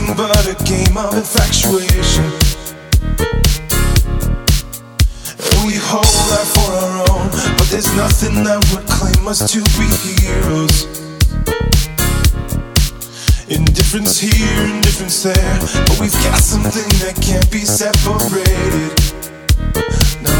nothing but a game of infatuation. We hold that for our own, but there's nothing that would claim us to be heroes. Indifference here, indifference there, but we've got something that can't be separated. No.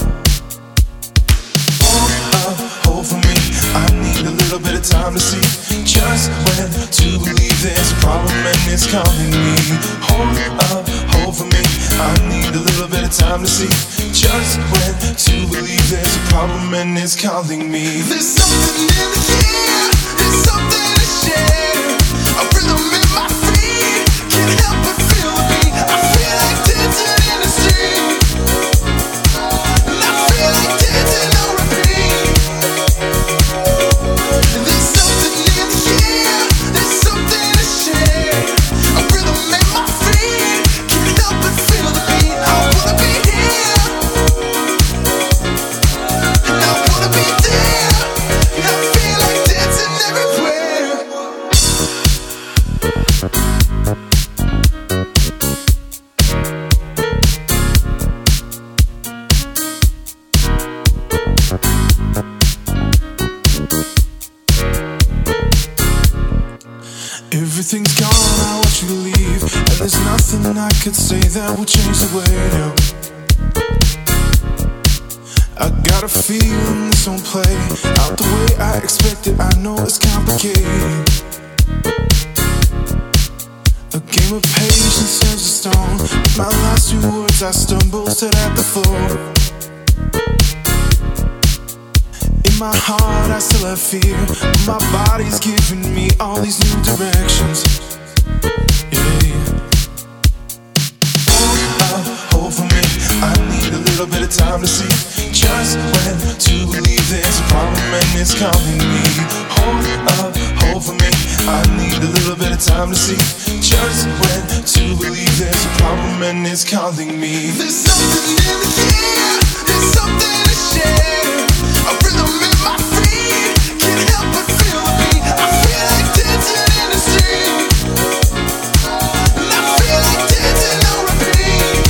Hold for me, I need a little bit of time to see just when to believe there's a problem and it's calling me. Hold for me, I need a little bit of time to see just when to believe there's a problem and it's calling me. There's something in the air, there's something to share. A rhythm in my feet, can't help but feel the beat. I feel like dancing in the street, and I feel like dancing on repeat. There's something in the air, there's something to share. A rhythm in my feet, can't help but feel the beat. I wanna be here, and I wanna be there, and I feel like dancing everywhere. Everything's gone, I want you to leave, and there's nothing I could say that will change the way now. I got a feeling this won't play out the way I expected. I know it's complicated. A game of patience as a stone. With my last 2 words I stumble, said at the floor. In my heart I still have fear, but my body's giving me all these new directions. Yeah. Hold for me, I need a little bit of time to see just when to believe there's a problem and it's calling me. Hold for me, I need a little bit of time to see just when to believe there's a problem and it's calling me. There's something in the air, there's something to share. A rhythm in my feet, can't help but feel the beat. I feel like dancing in the street, and I feel like dancing on repeat.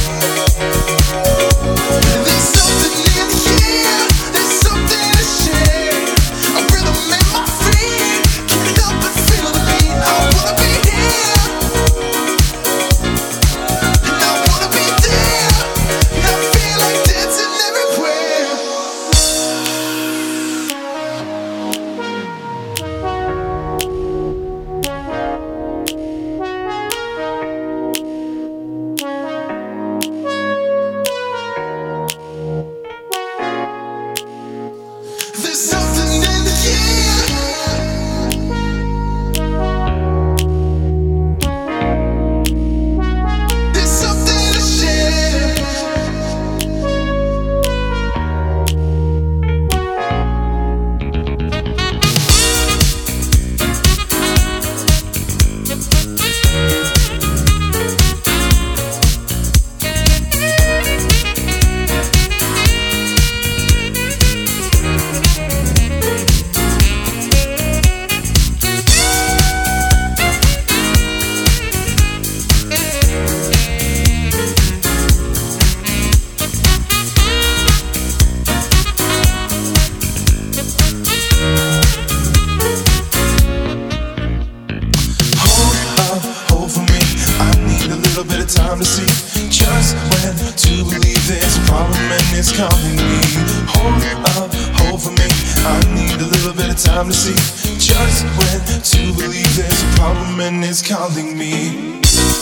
There's something in the air, there's something to share. A rhythm in my feet, can't help but feel the beat. I wanna be here, and I wanna be there, and I feel like dancing everywhere. There's something in the air. There's something to share. Hold for me, I need a little bit of time to see just when to believe there's a problem and it's calling me. Hold for me, I need a little bit of time to see just when to believe there's a problem and it's calling me.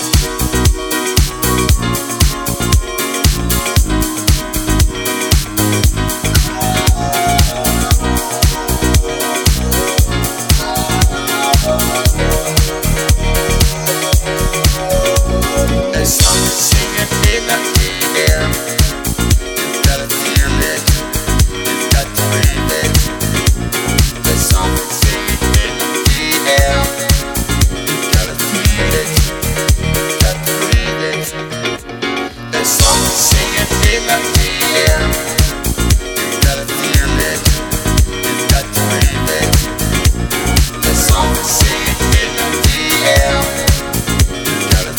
There's something singing in the air. You gotta feel it, you got to breathe it. There's something singing in the air. You gotta feel it, you got to breathe it. There's something singing in the air. You gotta feel it, you got to breathe it. There's something singing in the air. You gotta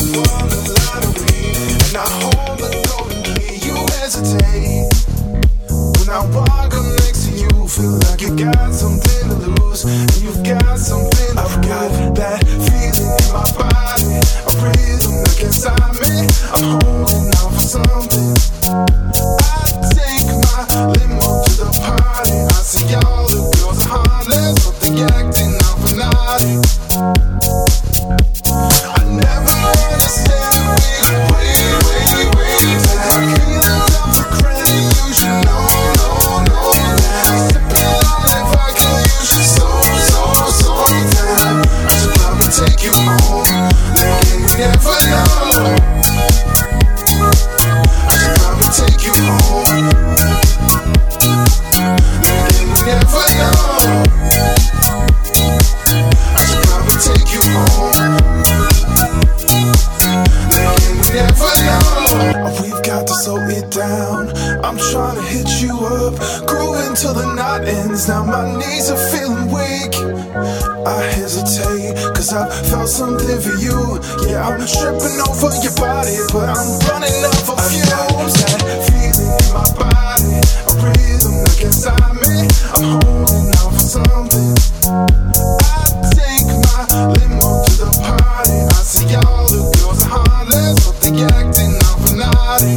won the lottery and I hold the golden key. You hesitate when I walk up next to you. Feel like you got something to lose and you've got something to prove. Got that feeling in my body, a rhythm that gets inside me. I'm holding out for something. I take my limo to the party. I see all the girls are heartless, but they acting out for naughty. I never understand we wait. My feelings up for credit, you should know. Sipping on if I can use you so down. I should probably take you home, like you never know. I should probably take you home, like you never know. I should probably take you home, like you never know. We've got to slow it down. I'm trying to hit you up, grooving till the night ends. Now my knees are feeling weak. I hesitate, cause I've felt something for you. Yeah, I'm tripping over your body, but I'm running out of fumes. That feeling in my body, a rhythm that gets inside me. I'm holding out for something. I take my limo to the party. I see all the girls are heartless, but they acting out for naughty.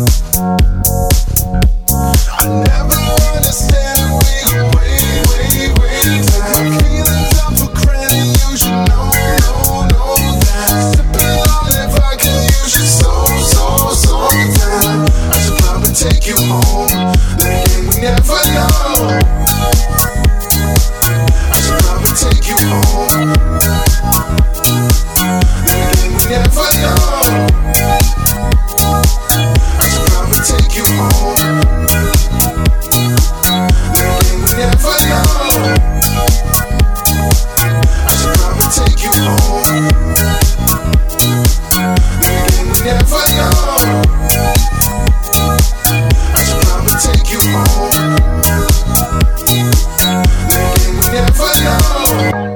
I never understand we wait. My feelings up for credit, you should know that. Sipping on if I can use you so down. I should probably take you home, like you never know. I should probably take you home, like you never know. I should probably take you home, like you never know. I should probably take you home, like you never know. I should probably take you home, like you never know.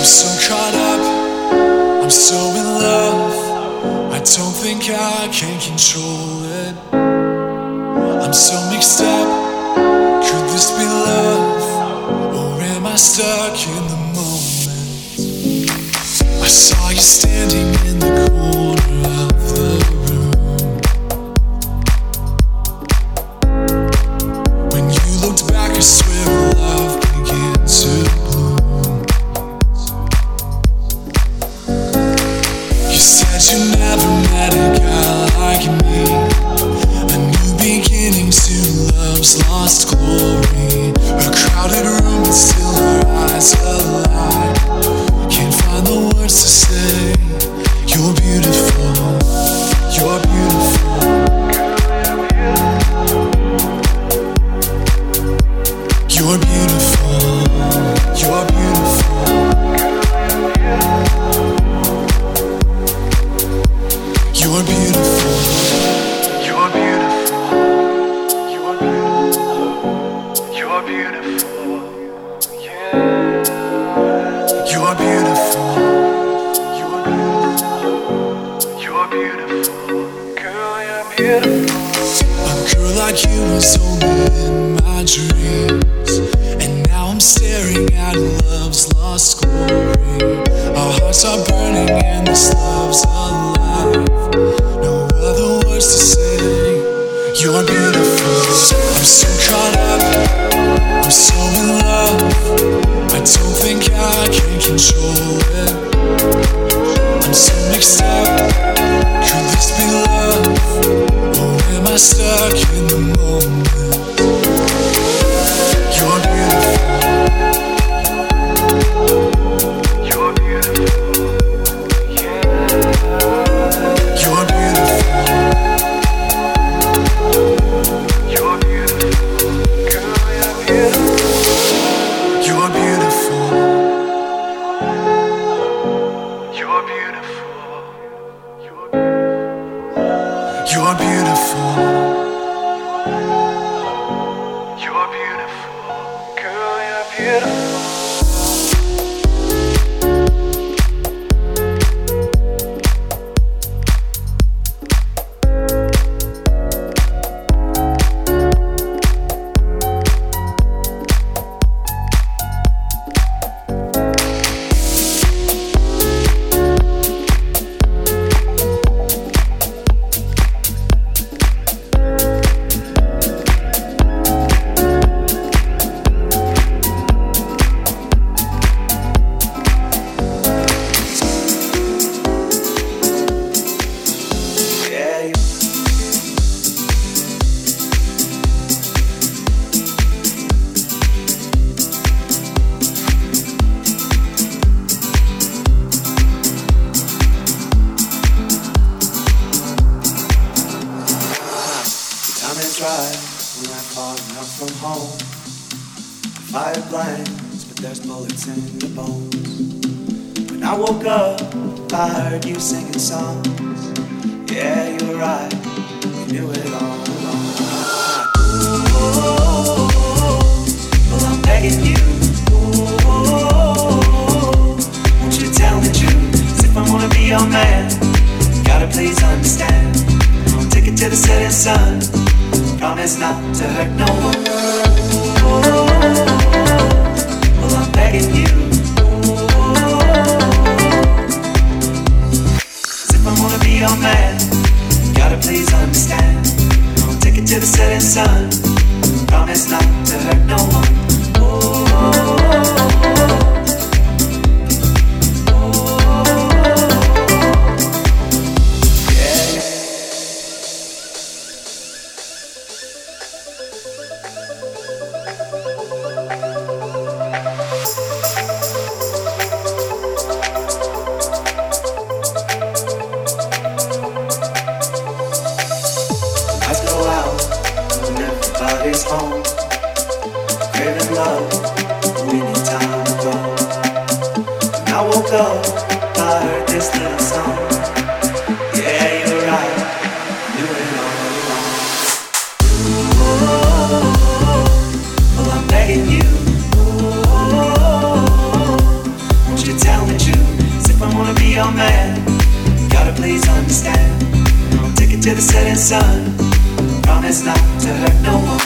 so caught up, I'm so in love, I don't think I can control it. I'm so mixed up, could this be love, or am I stuck in the moment? I saw you standing in the corner of the room. When you looked back, I swear love began to bloom. You said you never met a guy like me, a new beginning to love's lost glory. A crowded room, but still our eyes alive. Can't find the words to say. You're beautiful. You're beautiful. You're beautiful. You're beautiful. You're beautiful. You're beautiful. You're beautiful. You're beautiful. Yeah. You're beautiful. You're beautiful. You're beautiful. Girl, you're beautiful. A girl like you was only in my dreams, and now I'm staring at love's lost glory. Our hearts are burning and this love's alive. No other words to say. You're beautiful. I'm so caught up, I'm so in love, I don't think I can control it. I'm so mixed up, could this be love, or am I stuck in the moment? You're beautiful. You're beautiful. Yeah. You're beautiful. You're beautiful. Girl, you're beautiful. You're beautiful. You're beautiful. You're beautiful. You're beautiful. Girl, you're beautiful. Tell sun. Promise not to hurt no one.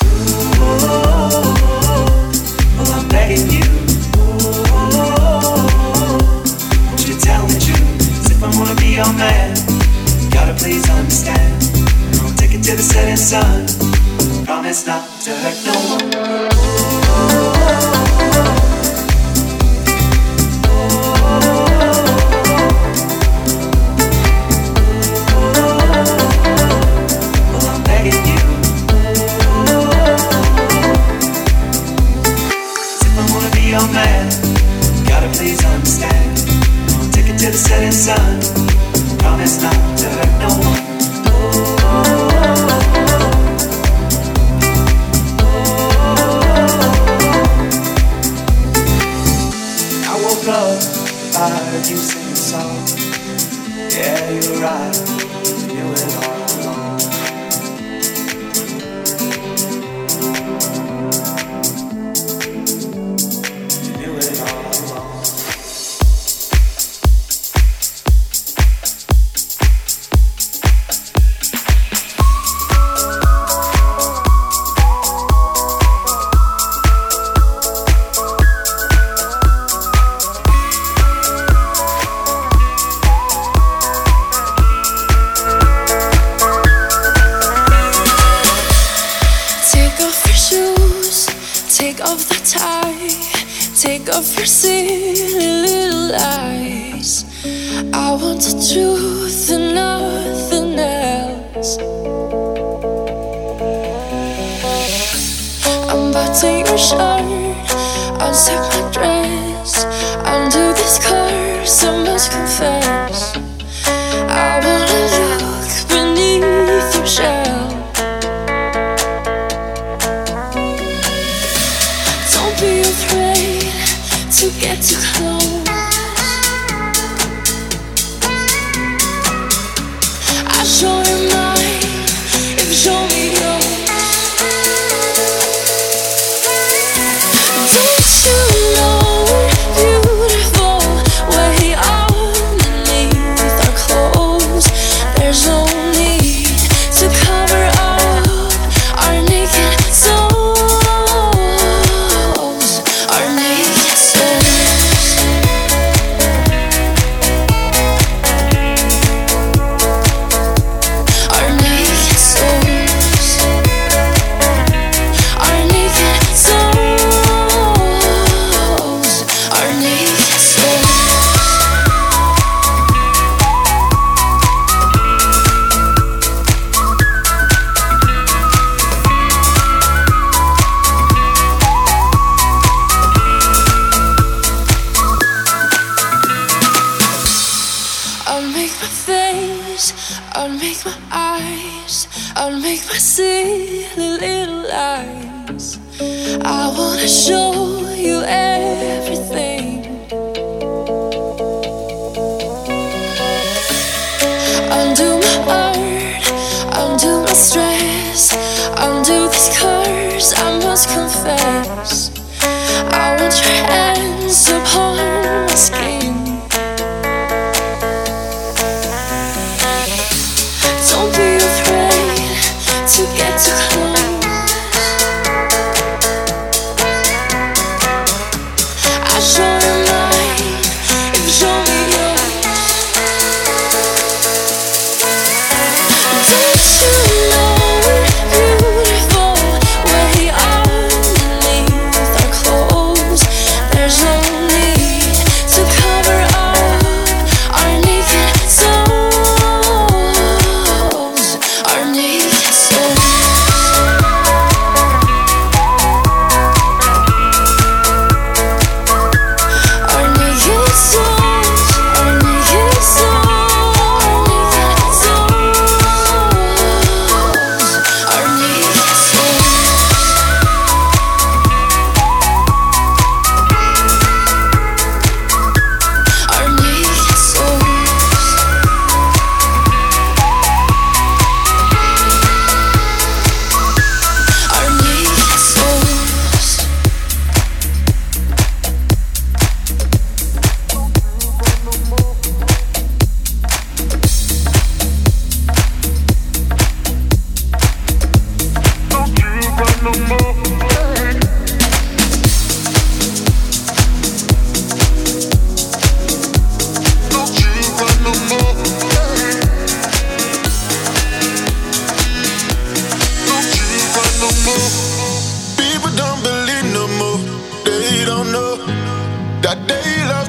Oh, I'm begging you. Won't you tell me true? As if I wanna be your man. Gotta please understand. I'll take it to the setting sun. Promise not to hurt no one. Your man, gotta please understand. I'll take it to the setting sun. Promise not to hurt no one. I woke up, I heard you sing a song. Yeah, you were right, you went all along. Take off your silly little lies. I want the truth and nothing else. Unbutton your shirt, unzip my dress, undo this curse, I must confess. I wanna look beneath your shell. Don't be afraid to get too close. I'll show you mine if you show me yours. Don't you know we're beautiful way underneath our clothes? There's no need to cover up our naked souls. Our naked souls. Our naked souls. Our naked souls. Our naked souls. I'll make my face, I'll make my eyes, I'll make my silly little eyes. I wanna show you everything. Undo my art, undo my stress, undo this curse, I must confess. I want your hands upon my skin. Don't be afraid to get too close. I'll show you mine if you show me yours. Don't you know we're beautiful way underneath our clothes? There's no need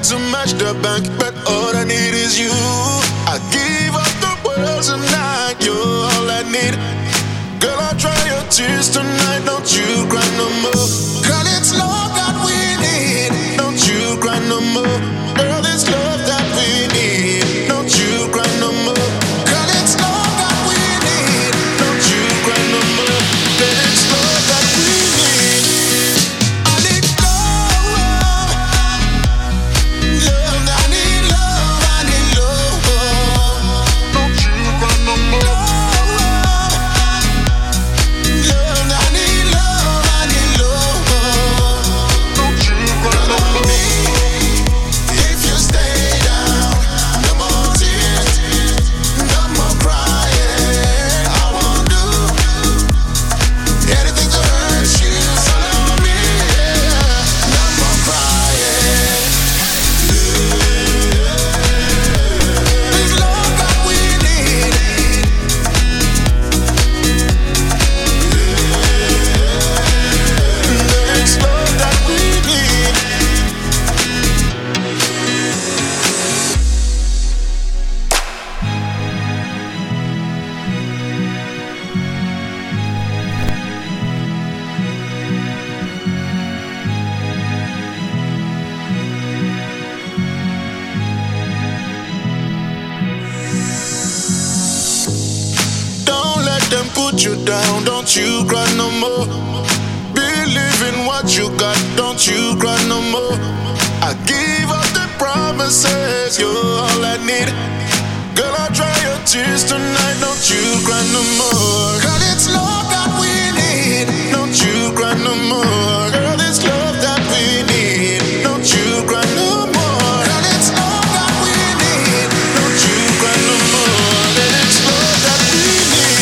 to match the bank, but all I need is you. I give up the world tonight, you're all I need. Girl, I'll dry your tears tonight, don't you cry no more. Girl, it's love that we need, don't you cry no more. Girl, it's love that we need, don't you cry no more. Girl, it's love that we need, don't you cry no more. Girl, it's love that we need. I need love, love, I need love, I need love. Don't you cry no more. Put you down, don't you cry no more. Believe in what you got, don't you cry no more. I give up the promises, you're all I need. Girl, I'll dry your tears tonight, don't you cry no more. Girl, it's love that we need, don't you cry no more. Girl, it's love that we need, don't you cry no more. Girl, it's love that we need, don't you cry no more. Girl, it's love that we need.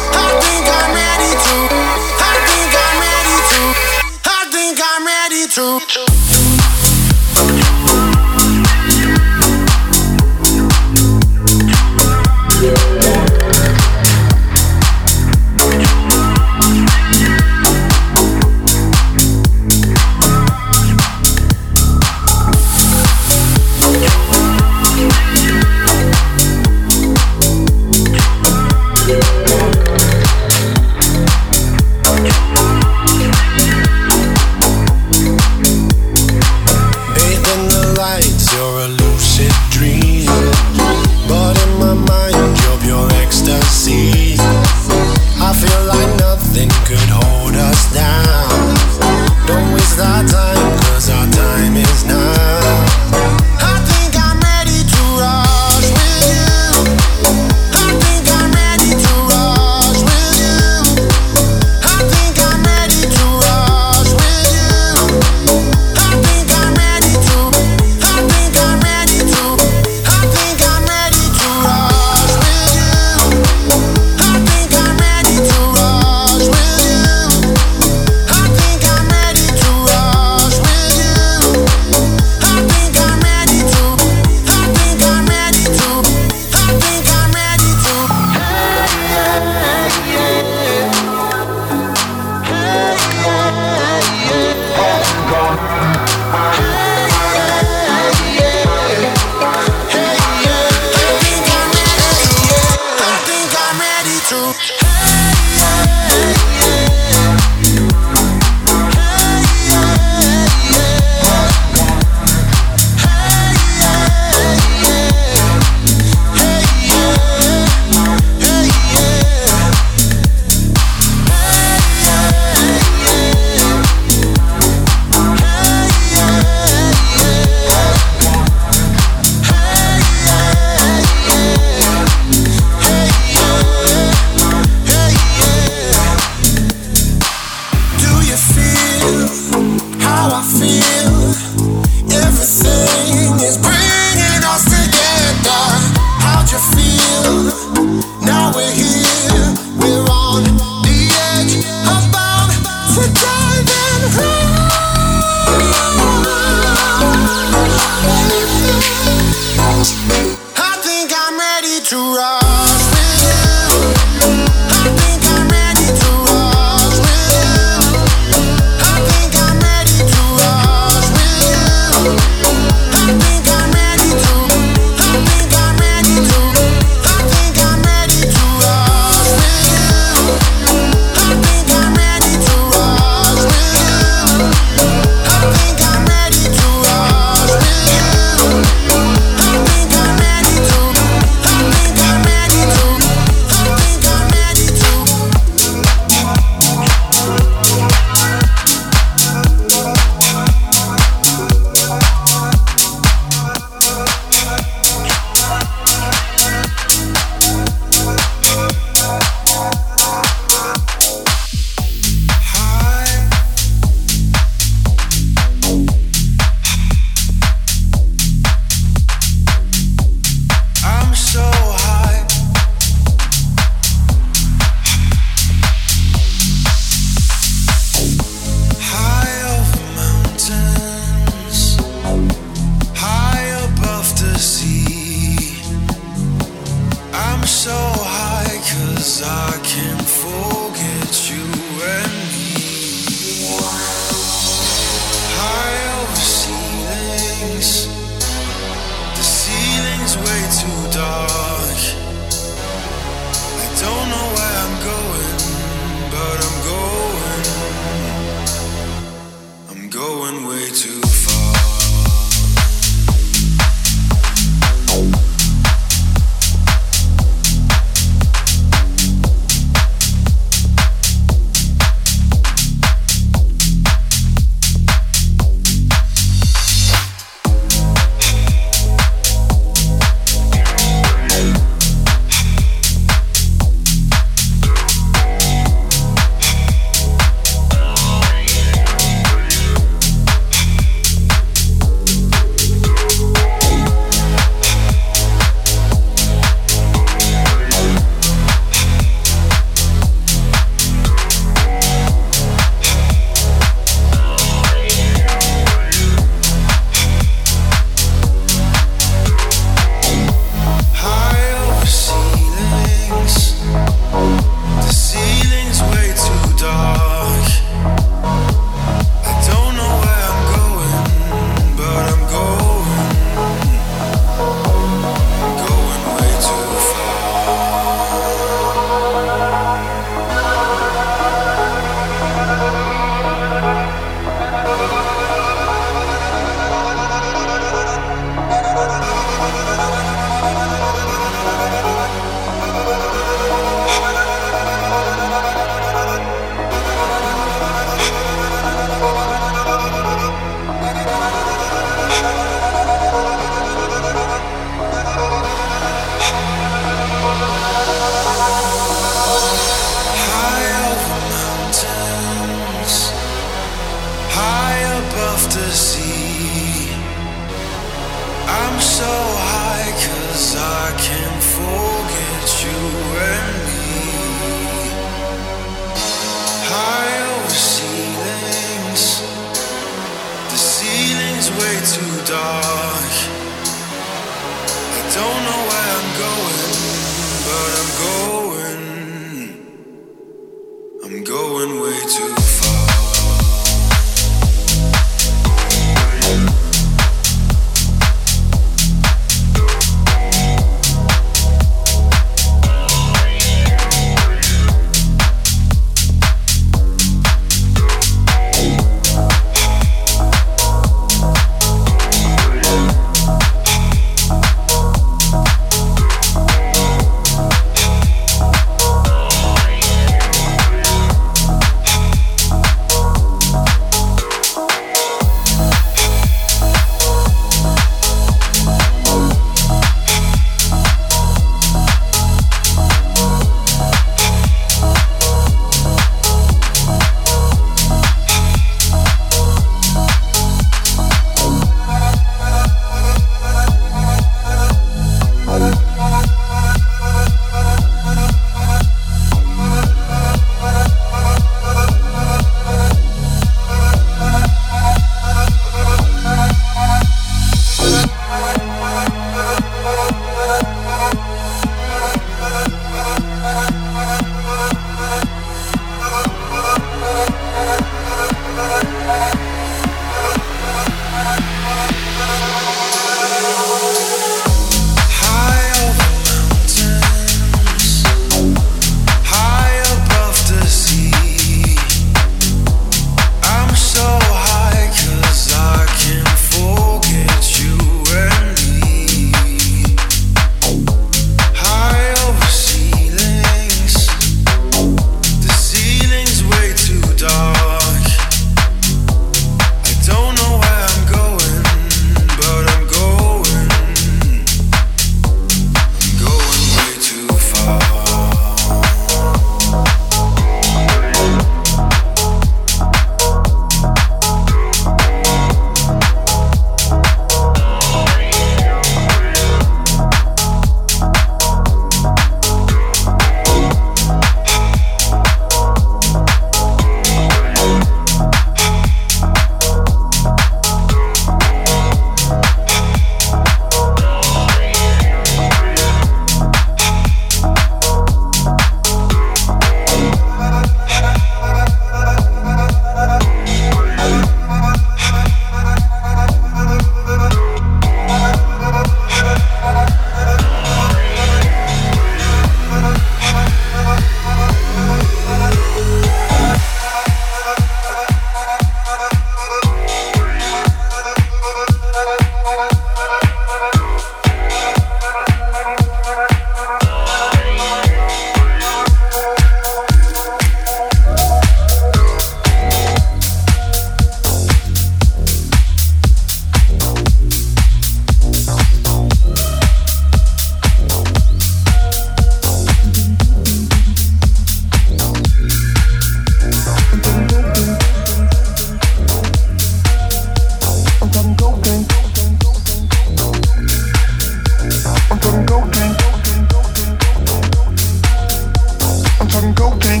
cocaine.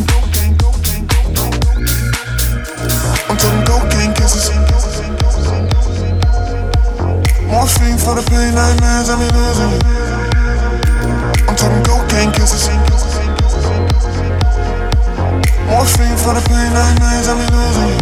I'm talking cocaine kisses. Morphine for the pain, nightmares, I'm losing. I'm talking cocaine kisses. Morphine for the pain, nightmares, I'm losing.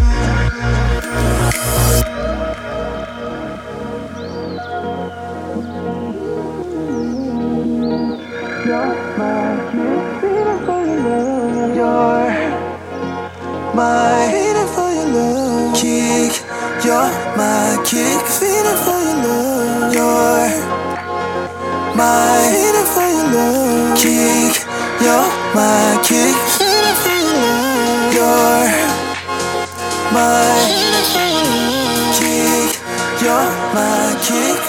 My feeling for your love, kick. You're my kick, feeling for your love. You're my feeling for your love, kick. You're my kick, feeling for your love. You're my kick. You're my kick.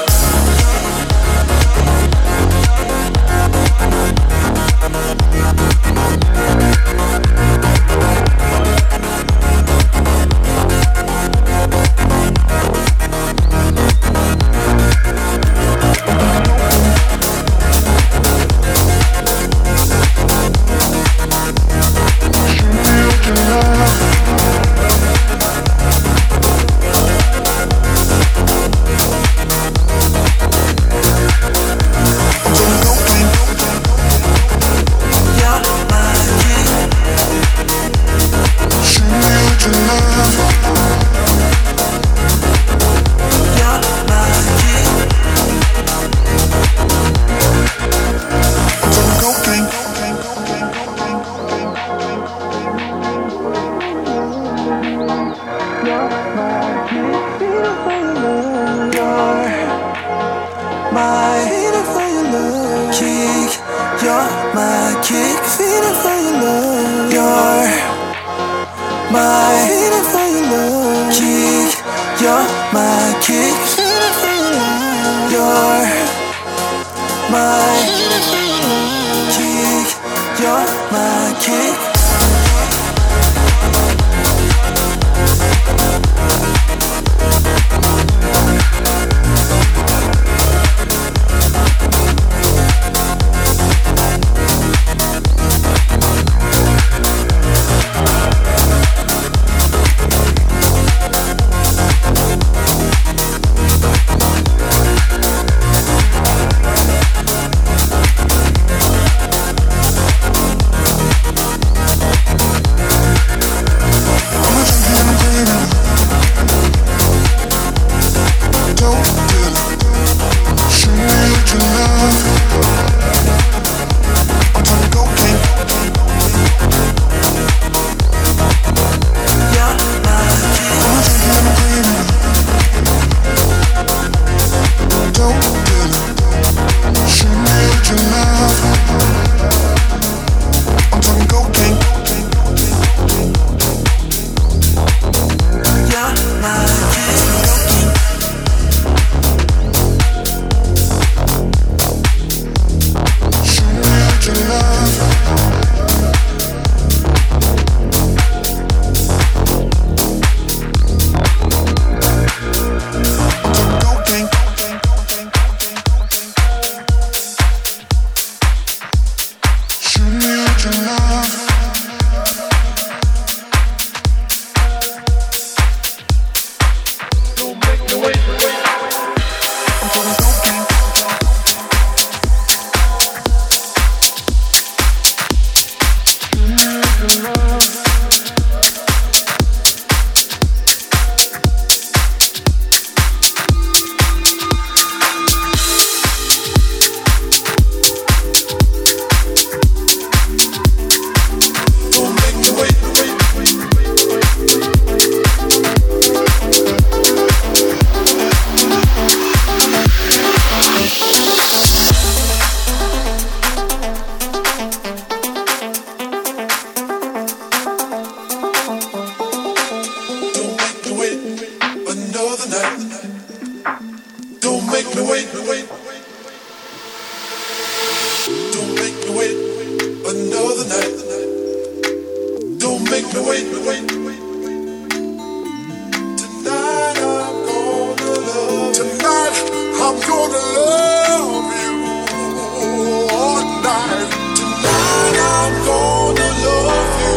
I'm gonna love you all night. Tonight I'm gonna love you.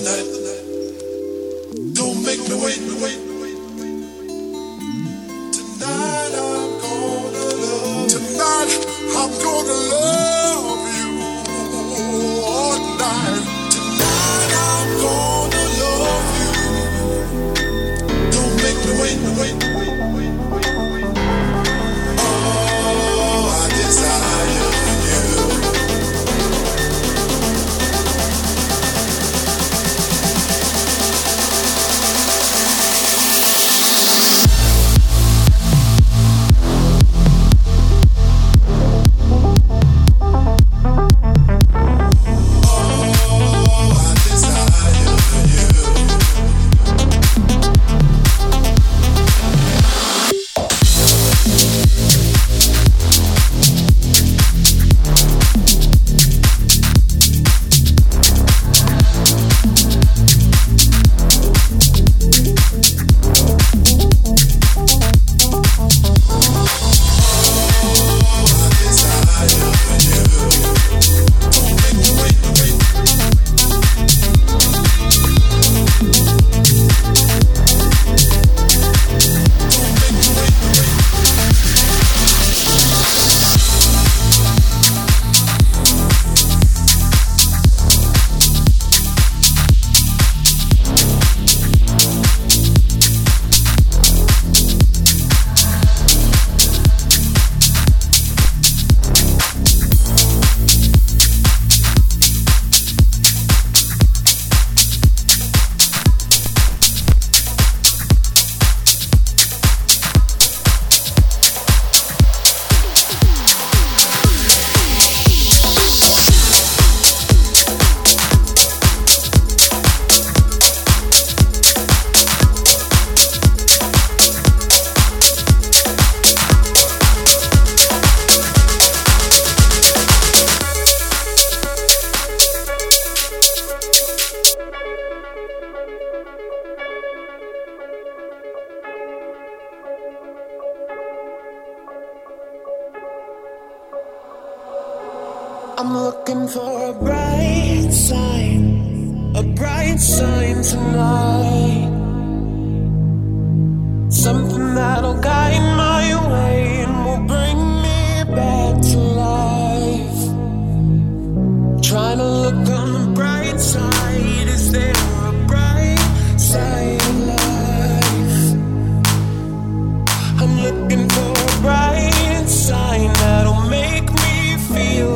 I'm looking for a bright sign tonight. Something that'll guide my way and will bring me back to life. Trying to look on the bright side. Is there a bright side of life? I'm looking for a bright sign that'll make me feel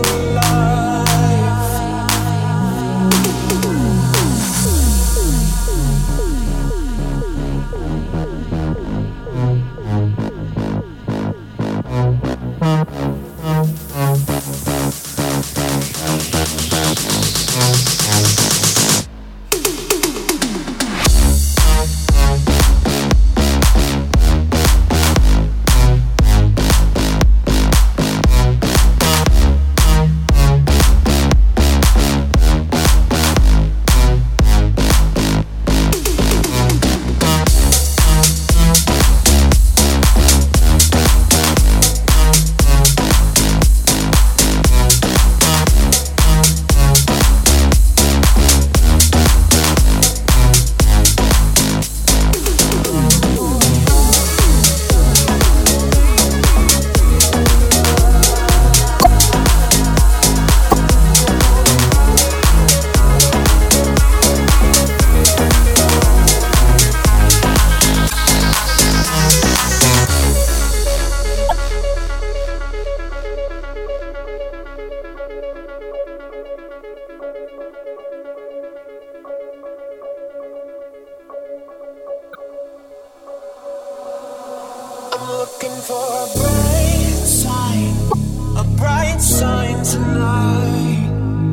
tonight.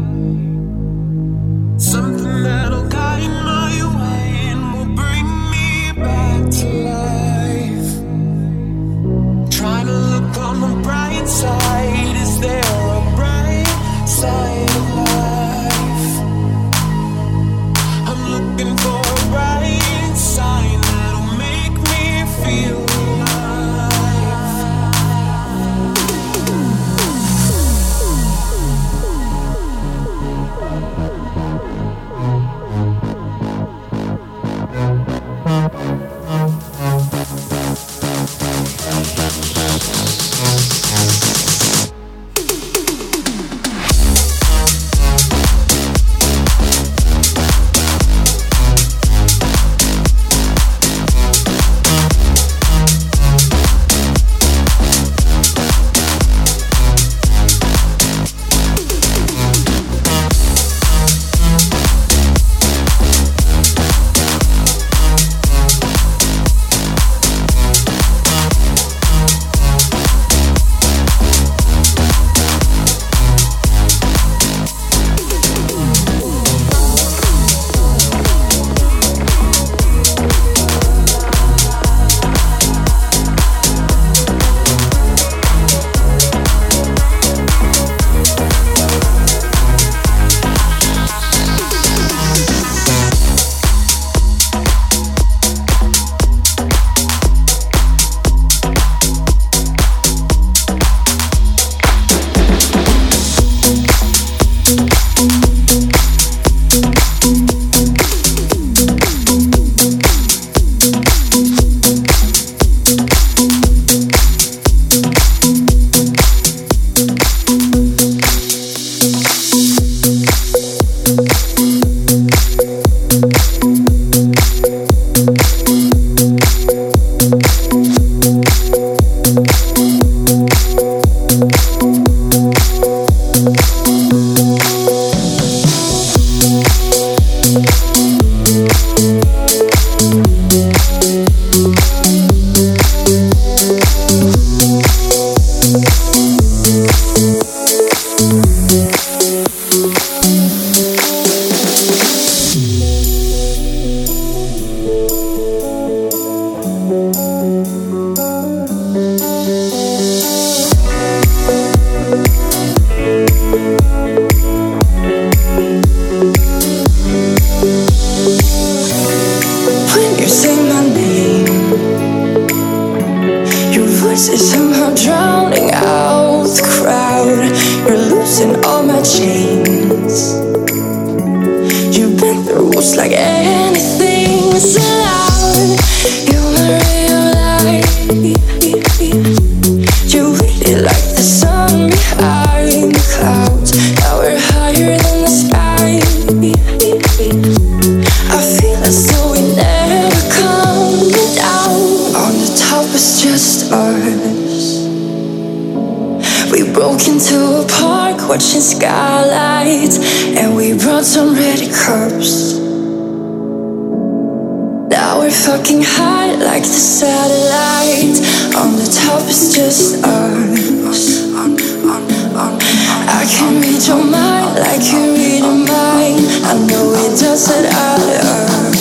Something that'll guide my way and will bring me back to life. Trying to look on the bright side. Is there a bright side of life? I'm looking for a bright sign that'll make me feel alive. chains. You bend the rules like anything's allowed. You're my real life. You waited like the sun behind the clouds. Now we're higher than the sky. I feel as though we never come down. On the top is just us. We broke into a park watching skylights, and we brought some ready curbs. Now we're fucking high like the satellites. On the top is just us. I can read your mind like you read mine. I know it doesn't add up,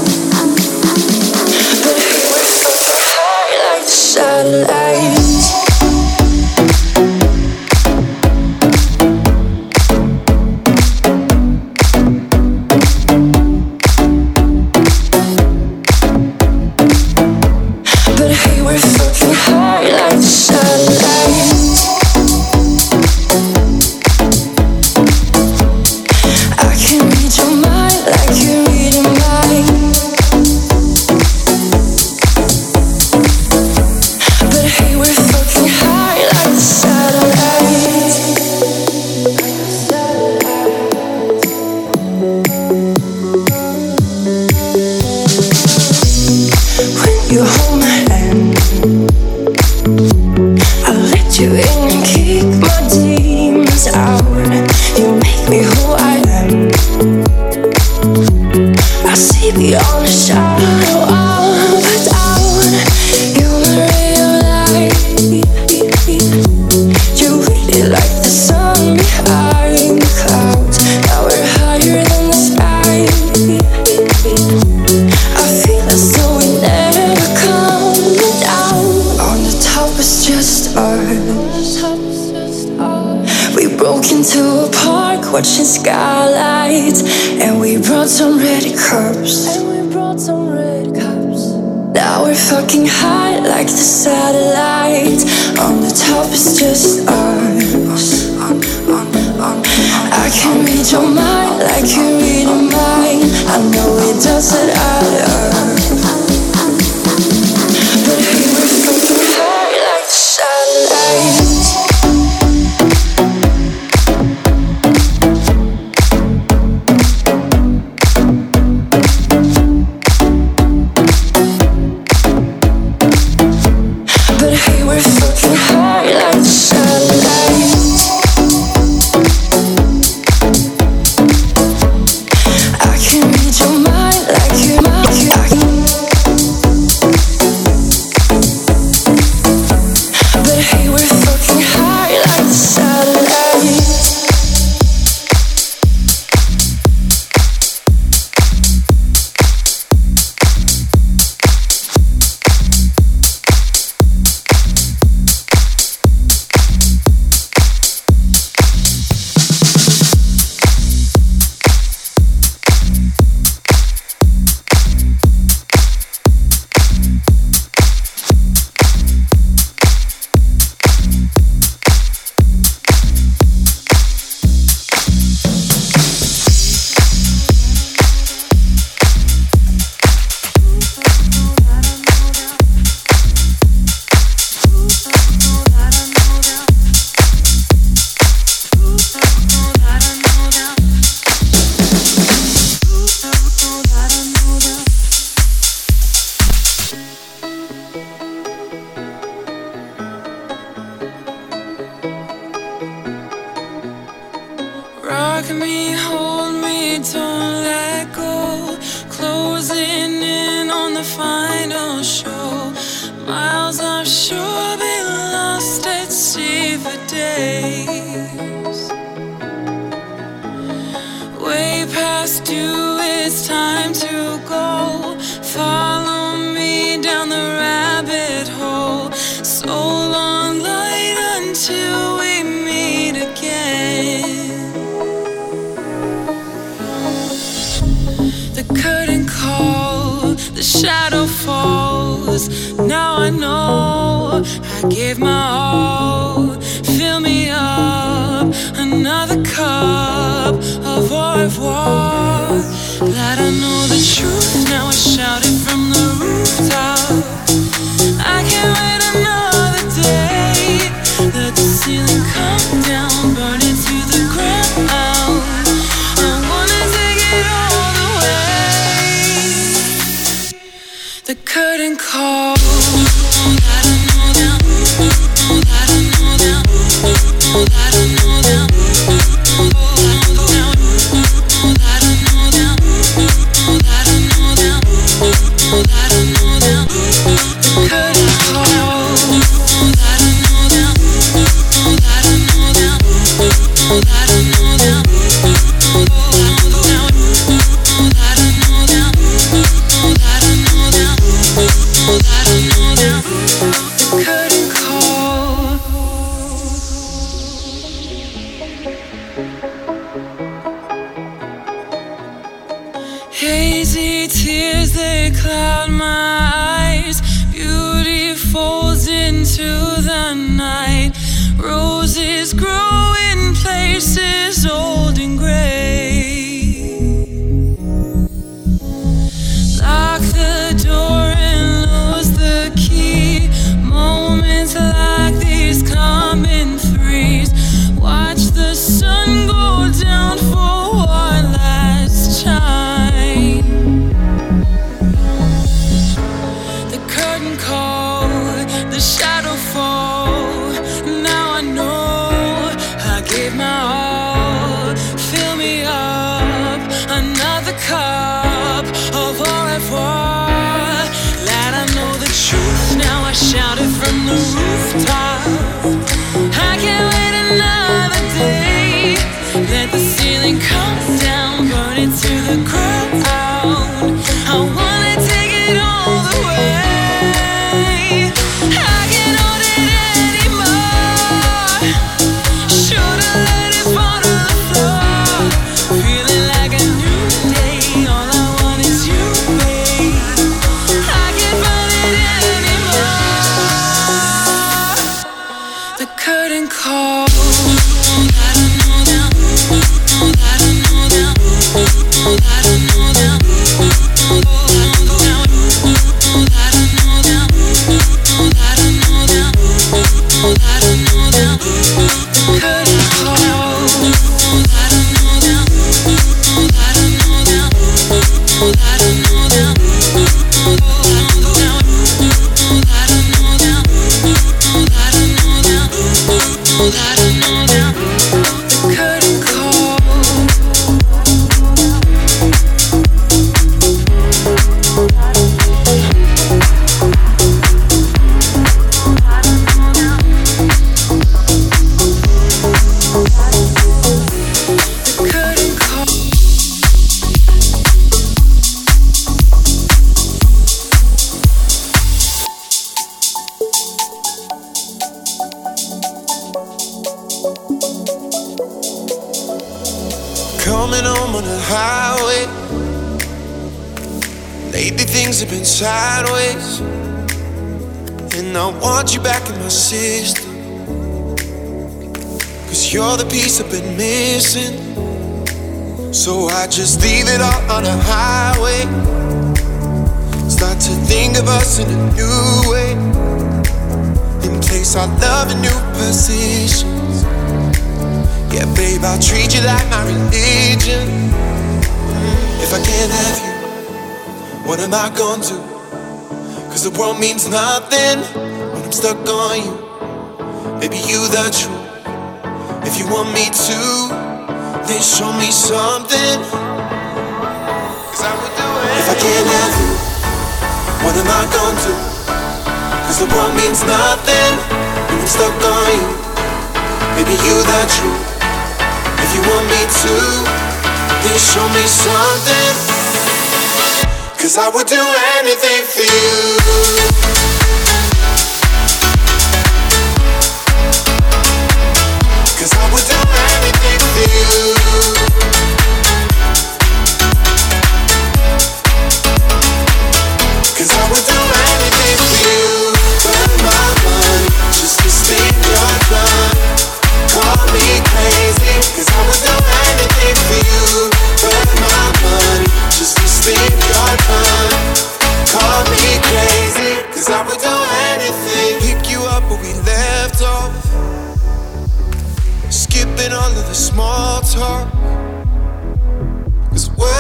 but hey, we're fucking high like the satellites. But hey, we're fucking high like the satellites. I can read your mind like you read mine. But hey, we're fucking high like the satellites. When you hold my hand, I let you in and kick my demons out. You make me who I am. I see beyond the shadow of a doubt. You're my real life. You waited like the sun behind the clouds. Now we're higher than the sky. I feel as though we never come down. On the top is just us. We broke into a park watching skylights, and we brought some ready curbs. Now we're fucking high like the satellites. On the top is just us. I can read your mind like you read mine. I know it doesn't add up, but hey, we're fucking high like the satellites. But hey, we're fucking high like the satellites. I can read your mind like you. But hey, we're fucking high like the satellites. Rock me, hold me, don't let go. Closing in on the final show. Miles offshore, been lost at sea for days. Way past you, it's time to go. Follow me down the rabbit hole. So long, light, until we meet again. The curtain calls, the shadow falls. Now I know I gave my all. Fill me up, another cup of au revoir. Glad I know the truth, now I shout it from the rooftop. I can't wait another day. Let the ceiling come down, burn it to the ground. I wanna take it all the way. The curtain calls. Hazy tears, they cloud my eyes. Beauty falls into the night. Roses grow in places old and gray. Lock the door and lose the key. Moments like these come in threes. Watch the sun go down for one last time. The curtain call, the shadow fall. Now I know I gave my all. Fill me up, another cup of au revoir. Glad I know the truth, now I shout it from the rooftop. I can't wait another day. Let the ceiling come down, burn it to the ground. I wanna take it all the way. I can't hold it anymore. Should've let it fall to the floor. Feeling like a new day. All I want is you, babe. I can't find it anymore. The curtain calls. Coming home on the highway. Lately things have been sideways, and I want you back in my system. Cause you're the piece I've been missing. So I just leave it all on the highway. Start to think of us in a new way. In place our love in new positions. Yeah, babe, I'll treat you like my religion. If I can't have you, what am I gonna do? Cause the world means nothing when I'm stuck on you. Baby, you the truth. If you want me to, then show me something. Cause I would do it. If I can't have you, what am I gonna do? Cause the world means nothing when I'm stuck on you. Baby, you the truth. If you want me to, then show me something. Cause I would do anything for you. Cause I would do anything for you. Cause I would do anything for you. Burn my mind just to stay in your blood. Call me crazy.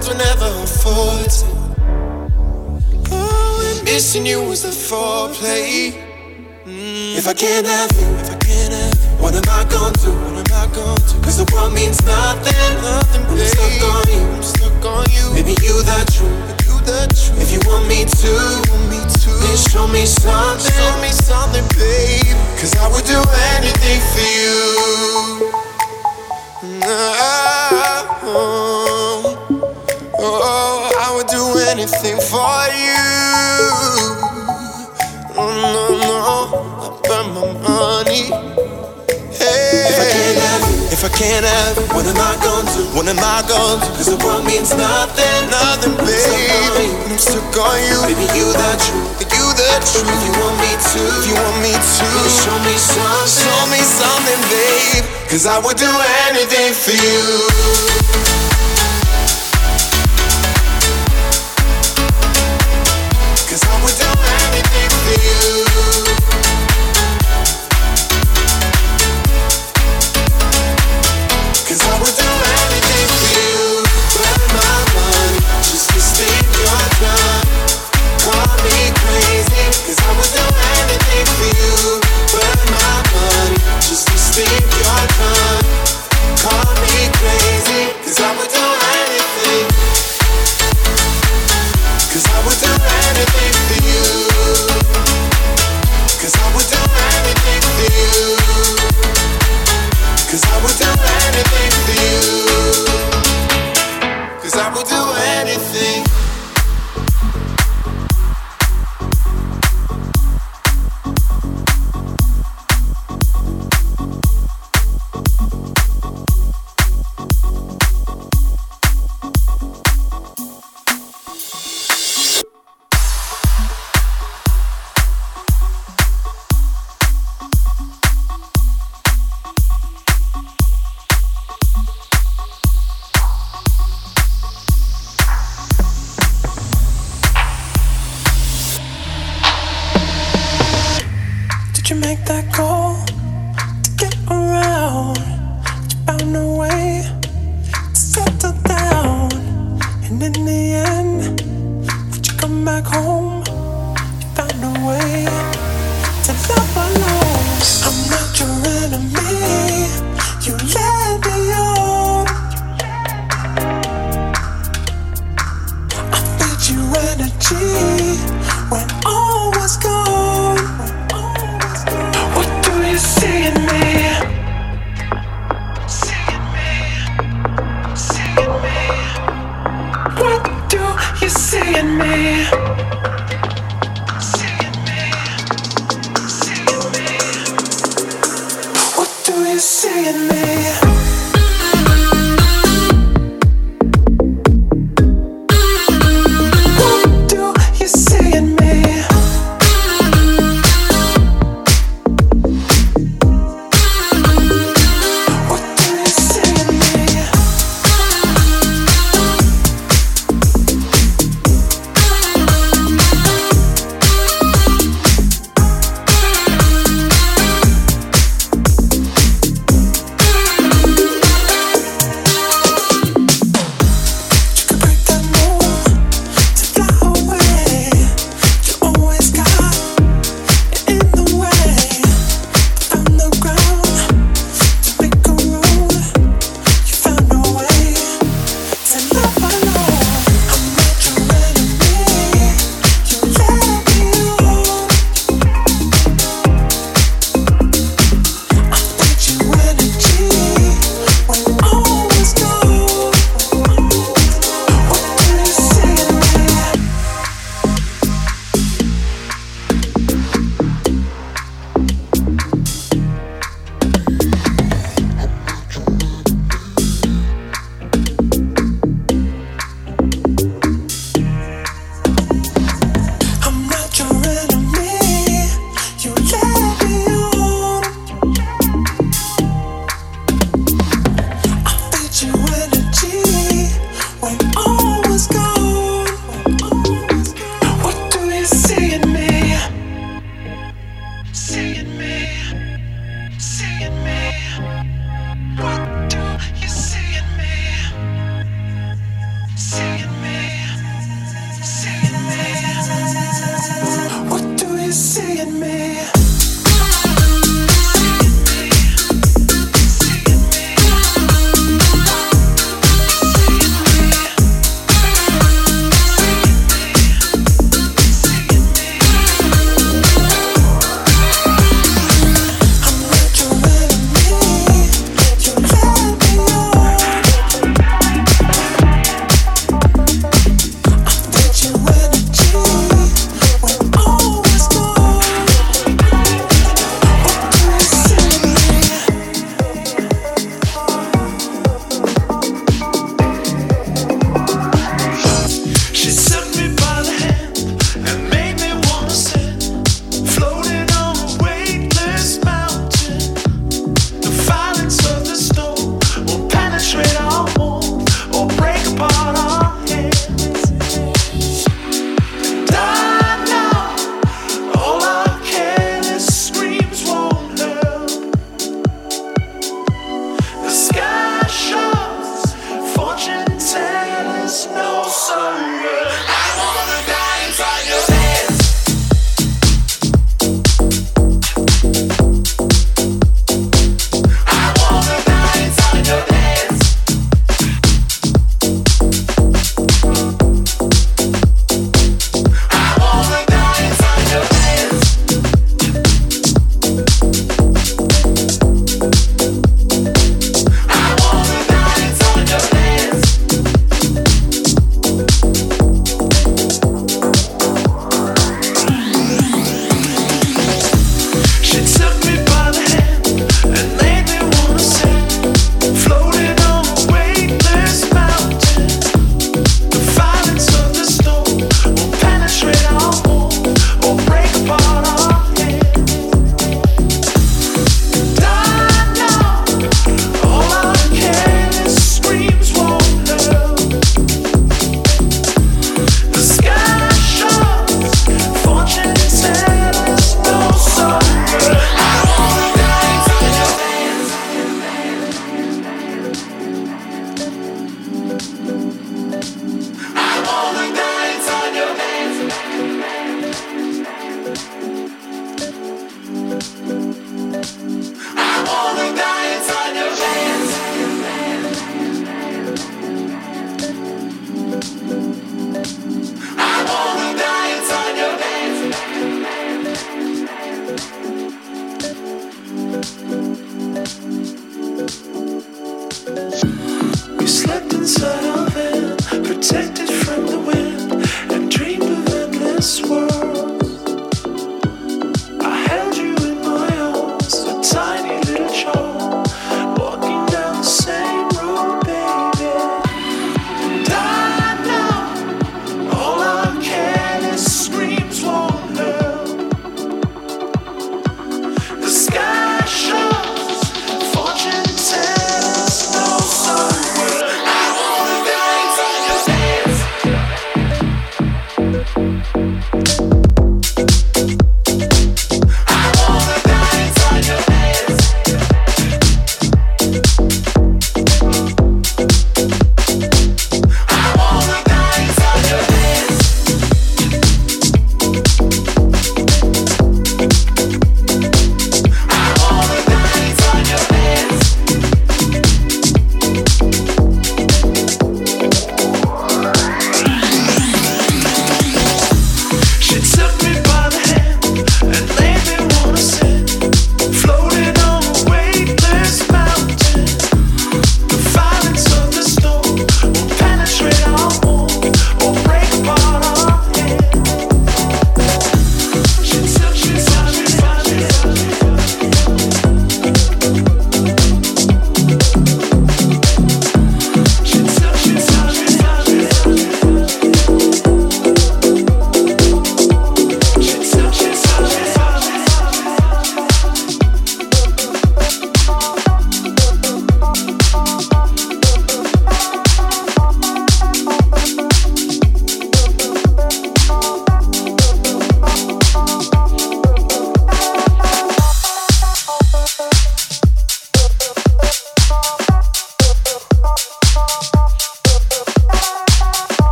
words were never afforded. Oh, and missing you was the foreplay. If I can't have you, what am I gonna do? Cause the world means nothing, babe. I'm stuck on you. Baby, you the truth. If you want me to, then show me something, babe. Cause I would do anything for you. Oh, I would do anything for you. No, I burn my money. Hey. If I can't have you, what am I gonna do? Cause the world means nothing, babe. I'm stuck on you. Baby, you the truth. If you want me to, then show me something, babe. Cause I would do anything for you. Cause I would do anything for you. Cause I would do anything for you. Burn my money just to spend your time. Call me crazy. Cause I would do anything for you. Burn my money just to spend your time. Call me crazy. Cause I would do anything. Cause I would do anything for you. Cause I would do anything for you. Cause I would do anything for you. Cause I would do anything. You make that call to get around. You found a way to settle down. And in the end, would you come back home? You found a way to love alone. I'm not your enemy. You let me on. I fed you energy when all was gone. What do you see in me? What do you see in me? What do you see in me? See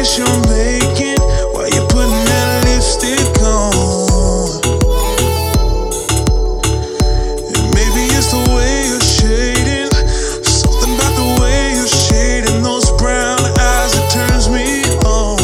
face you're making while you're putting that lipstick on. And maybe it's the way you're shading, something about the way you're shading those brown eyes that turns me on.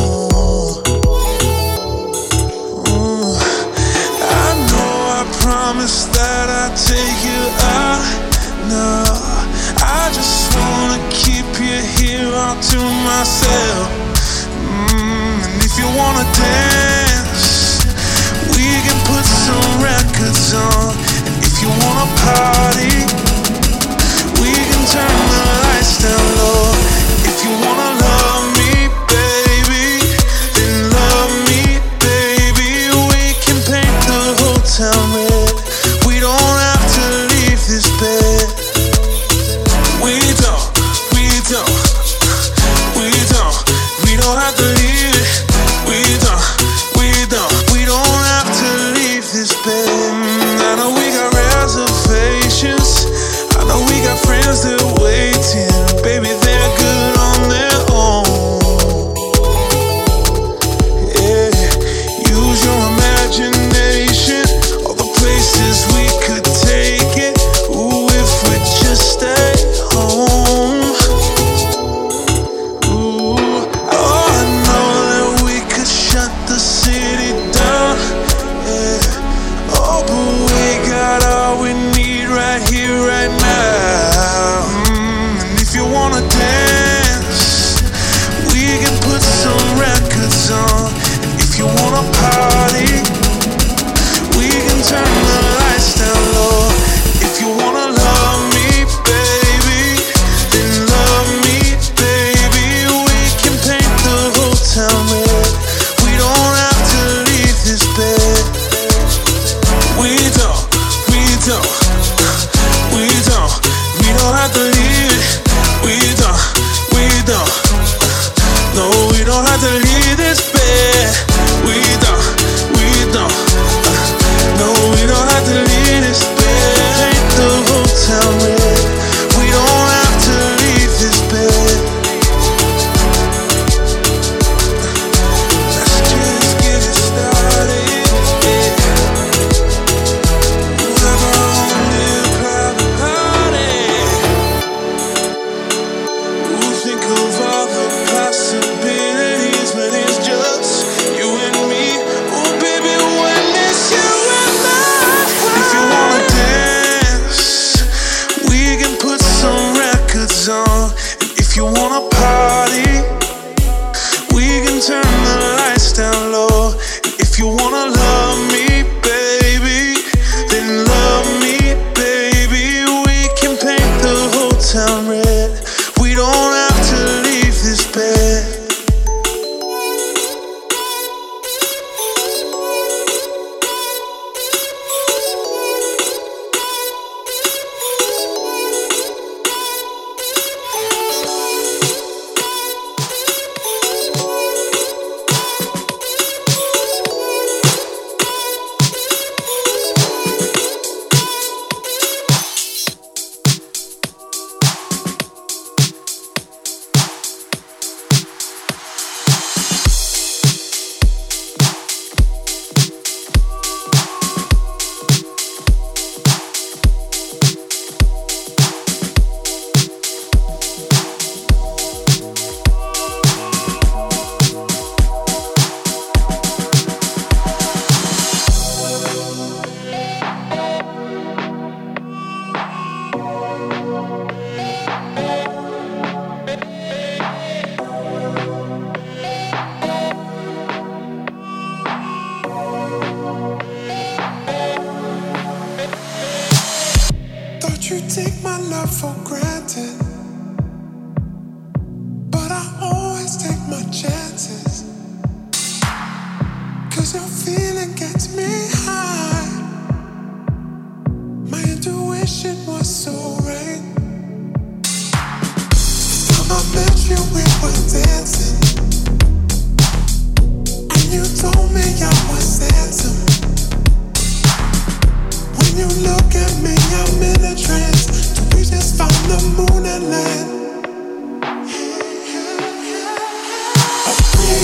I know I promised that I'd take you out. No, I just wanna keep you here all to myself. And if you wanna dance, we can put some records on. And if you wanna party, we can turn the lights down low. If you wanna love me, baby, then love me, baby. We can paint the whole town red. We don't have to leave this bed. We don't have to leave it. We don't have to leave this bed. I know we got reservations. I know we got friends that are waiting. Baby, they're good on their own. Yeah, use your imagination. All the places we could take it. Ooh, if we just stay home. Party, we can turn the lights down low. If you wanna love me, baby, then love me, baby. We can paint the whole town red. We don't have to leave this bed. We don't have to leave it. No, we don't have to leave this bed. We don't. No, we don't have to leave this bed. Paint the whole town red. We don't have to leave this bed. Let's just get it started. Yeah. We'll have our own little private party. We'll think of all the possibilities when it's just you and me. Oh baby, when it's you and I. If you wanna dance, we can put some records on. And if you wanna party, we can turn the lights down low. And if you wanna love me, baby, then love me, baby. We can paint the whole town red. We don't have to leave this bed. You take my love for granted, but I always take my chances. 'Cause your feeling gets me high. My intuition was so right. The time I met you, we were dancing, and you told me I was handsome. When you look at me, I'm in a trance. We just found the moon and land. A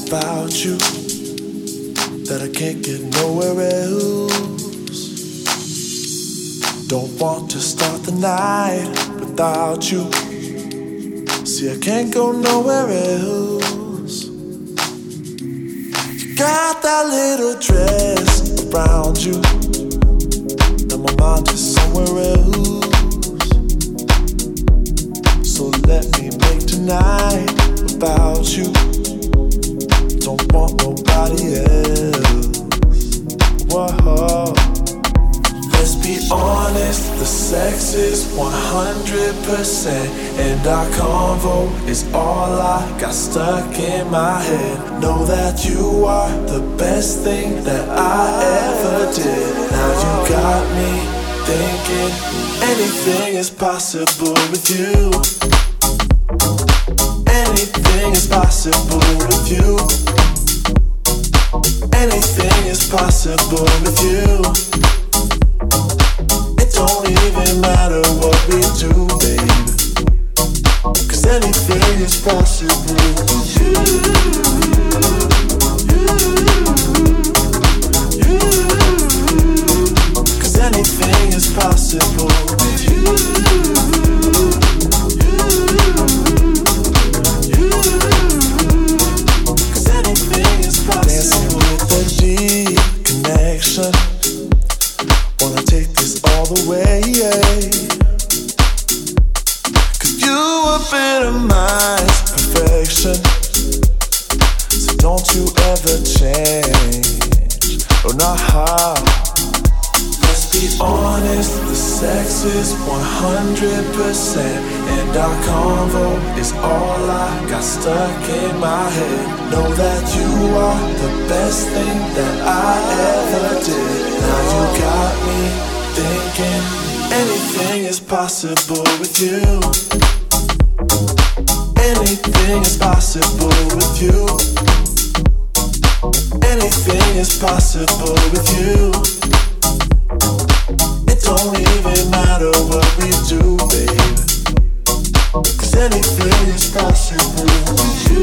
about you that I can't get nowhere else. Don't want to start the night without you. See, I can't go nowhere else. You got that little dress around you, and my mind is somewhere else. So let me make tonight about you. Don't want nobody else. Whoa. Let's be honest, the sex is 100%, and our convo is all I got stuck in my head. Know that you are the best thing that I ever did. Now you got me thinking anything is possible with you. Anything is possible with you. Anything is possible with you. It don't even matter what we do, baby, 'cause anything is possible with you. Cause anything is possible with you. Cause anything is possible. Dancing with a deep connection. Wanna take this all the way, yeah. Cause you epitomize perfection. So don't you ever change. Oh, nah. Let's be honest, the sex is 100%, and our convo is all I got stuck in my head. Know that you are the best thing that I ever did. Now you got me thinking anything is possible with you. Anything is possible with you. Anything is possible with you. It don't even matter what we do, babe, 'cause anything is possible with you.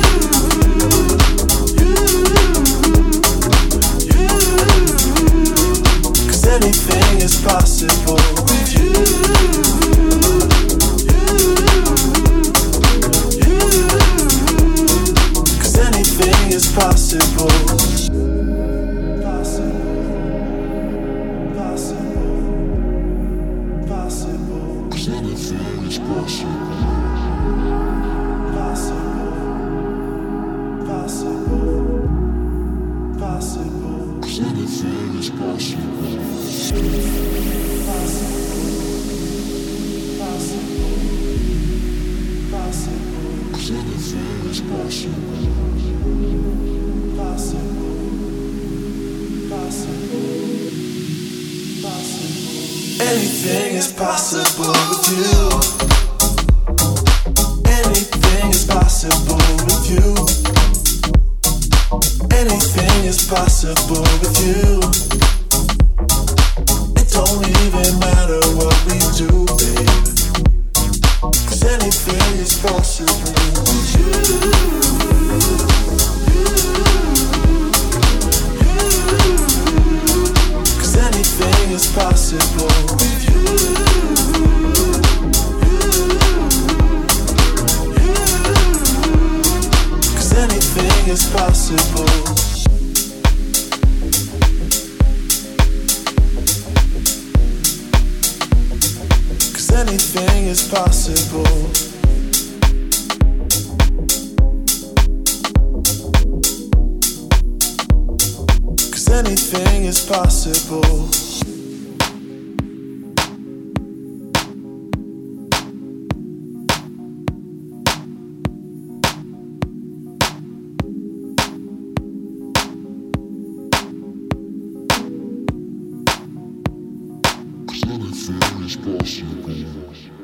Cause anything is possible with you. Cause anything is possible. Anything is possible with you. Anything is possible with you. Anything is possible with you. It don't even matter what we do, babe, 'cause anything is possible with you. Cause anything is possible with you. Cause anything is possible. Cause anything is possible. Cause anything is possible. Anything is possible.